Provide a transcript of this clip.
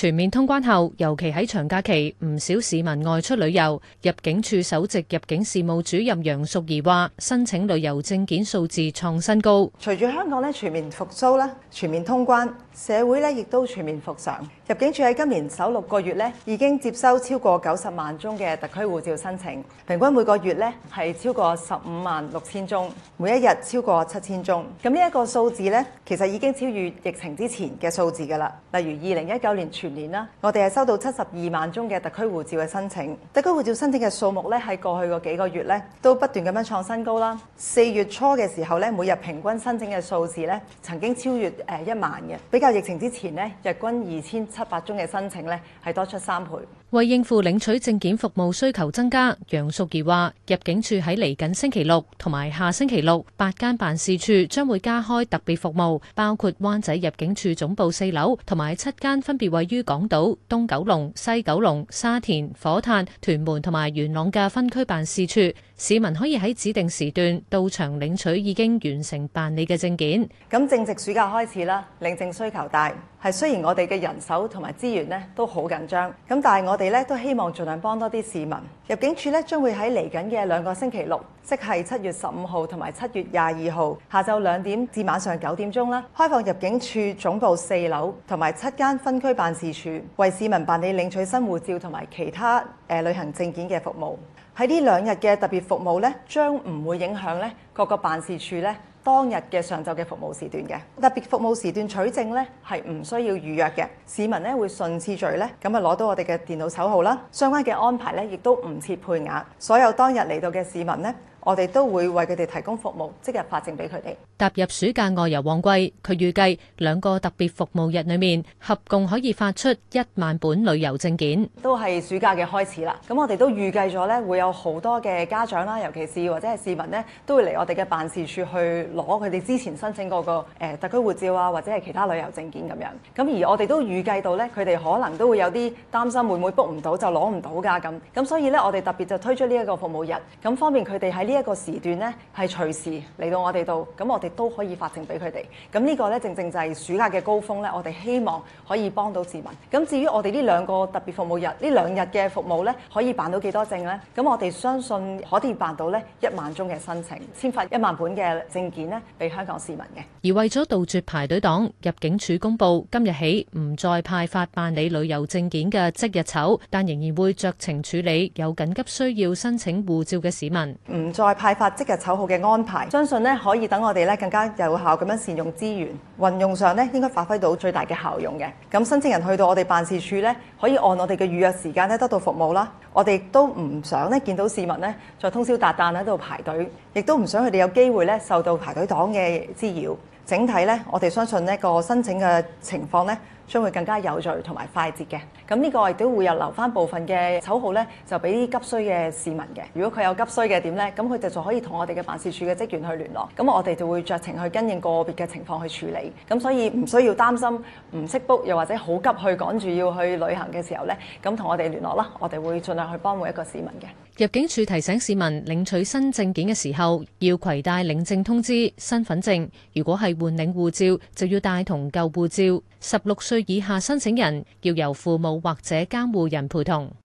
全面通關後，尤其喺長假期，唔少市民外出旅遊。入境處首席入境事務主任楊淑儀話：申請旅遊證件數字創新高。 隨住香港全面復甦啦，全面通關，社會亦都全面復常。入境處喺今年首6個月已經接收超過90萬宗嘅特區護照申請，平均每個月係超過15萬6千宗，每一日超過7000宗。咁呢一個數字其實已經超越疫情之前嘅數字㗎啦。例如2019年全年啦，我哋係收到72萬宗嘅特區護照嘅申請，特區護照申請嘅數目喺過去嗰幾個月都不斷咁樣創新高啦。4月初嘅時候每日平均申請嘅數字曾經超越1萬嘅，比較疫情之前日均2700宗嘅申請係多出3倍。 為應付領取證件服務需求增加，楊淑儀話：入境處喺嚟緊星期六同埋下星期六8間辦事處將會加開特別服務，包括灣仔入境處總部4樓同埋7間分別位於港島、東九龍、西九龍、沙田、火炭、屯門同埋元朗嘅分區辦事處。市民可以喺指定時段到場領取已經完成辦理嘅證件。 咁正值暑假開始啦，領證需求大，雖然我哋嘅人手同埋資源都好緊張，咁但係我哋都希望盡量幫多啲市民。入境處將會喺嚟緊嘅2個星期六，即係7月15號同埋7月22號下晝2點至晚上9點鐘啦，開放入境處總部4樓同埋7間分區辦事處，為市民辦理領取新護照同埋其他旅行證件嘅服務。喺呢2日嘅特別服務將唔會影響各個辦事處當日嘅上晝嘅服務時段嘅。特別服務時段取證係唔需要預約嘅，市民會順次序咁攞到我哋嘅電腦手號啦。相關嘅安排亦都唔設配額，所有當日嚟到嘅市民我哋都會為佢哋提供服務，即日發證俾佢哋。 踏入暑假外遊旺季，佢預計2個特別服務日裏面，合共可以發出1萬本旅遊證件。 都係暑假嘅開始啦，咁我哋都預計咗會有好多嘅家長啦，尤其是或者係市民都會嚟我哋嘅辦事處去攞佢哋之前申請過個特區護照啊，或者係其他旅遊證件咁樣。咁而我哋都預計到佢哋可能都會有啲擔心，會唔會 book 唔到就攞唔到㗎咁。咁所以我哋特別就推出呢一個服務日，咁方便佢哋喺呢一個時段係隨時嚟到我哋度，咁我哋都可以發證俾佢哋。咁呢個正正就係暑假嘅高峰我哋希望可以幫到市民。咁至於我哋呢2個特別服務日，呢2日嘅服務可以辦到幾多證呢？咁我哋相信可以辦到1萬宗嘅申請，簽發1萬本嘅證件俾香港市民嘅。 而為咗杜絕排隊黨，入境處公佈今日起唔再派發辦理旅遊證件嘅即日籌，但仍然會酌情處理有緊急需要申請護照嘅市民。 唔再派發即日籌號嘅安排，相信可以等我哋更加有效咁樣善用資源，運用上應該發揮到最大嘅效用嘅。咁申請人去到我哋辦事處可以按我哋嘅預約時間得到服務啦。我哋都唔想見到市民再通宵達旦喺度排隊，亦都唔想佢哋有機會受到排隊黨嘅滋擾。整體我哋相信個申請嘅情況將會更加有序同埋快捷嘅。咁呢個亦都會有留翻部分嘅籌號就俾急需嘅市民嘅。如果佢有急需嘅點咁佢哋就可以同我哋嘅辦事處嘅職員去聯絡。咁我哋就會酌情去跟應個別嘅情況去處理。咁所以唔需要擔心唔識 book，又或者好急去趕住要去旅行嘅時候咁同我哋聯絡啦。我哋會盡量去幫每一個市民嘅。 入境處提醒市民領取新證件嘅時候，要攜帶領證通知、身份證。如果係換領護照，就要帶同舊護照。16歲以下申請人要由父母或者監護人陪同。